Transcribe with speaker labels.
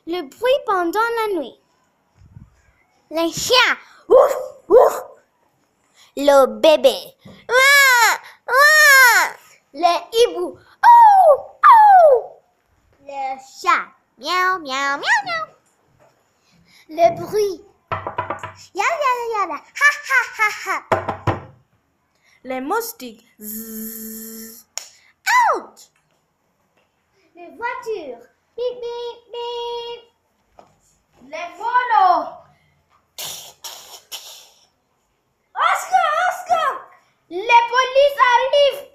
Speaker 1: Le bruit pendant la nuit. Les chiens. Ouf, ouf. Le bébé. Ouah, ouah. Les hiboux. Oh, oh. Le chat. Miaou, miaou, miaou, miaou. Le bruit. Yada, yada, yada. Ha, ha, ha, ha.
Speaker 2: Les moustiques. Zzz.
Speaker 1: Out. Les voitures. Bip, bip, bip.
Speaker 2: Les monos.
Speaker 1: Oscar, Oscar. Les polices arrivent.